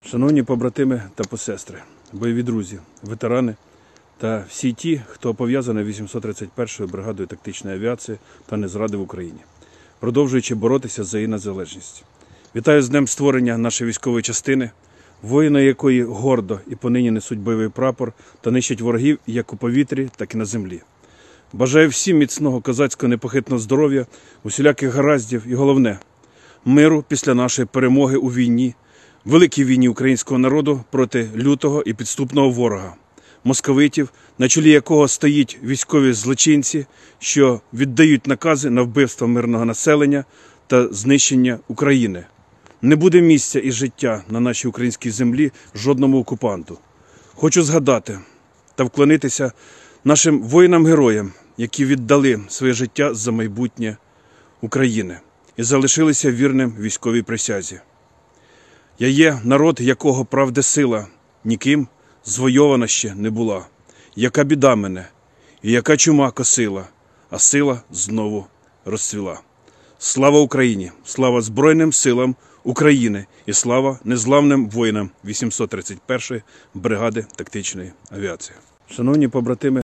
Шановні побратими та посестри, бойові друзі, ветерани та всі ті, хто пов'язаний 831-ю бригадою тактичної авіації та не зрадив Україні, продовжуючи боротися за її незалежність. Вітаю з днем створення нашої військової частини, воїни якої гордо і понині несуть бойовий прапор та нищать ворогів як у повітрі, так і на землі. Бажаю всім міцного козацького непохитного здоров'я, усіляких гараздів і головне – миру після нашої перемоги у війні, великій війні українського народу проти лютого і підступного ворога – московитів, на чолі якого стоїть військові злочинці, що віддають накази на вбивство мирного населення та знищення України. Не буде місця і життя на нашій українській землі жодному окупанту. Хочу згадати та вклонитися нашим воїнам-героям, які віддали своє життя за майбутнє України і залишилися вірним військовій присязі. Я є народ, якого правди сила ніким звойована ще не була. Яка біда мене, і яка чума косила, а сила знову розцвіла. Слава Україні! Слава Збройним силам України! І слава незламним воїнам 831-ї бригади тактичної авіації! Шановні побратими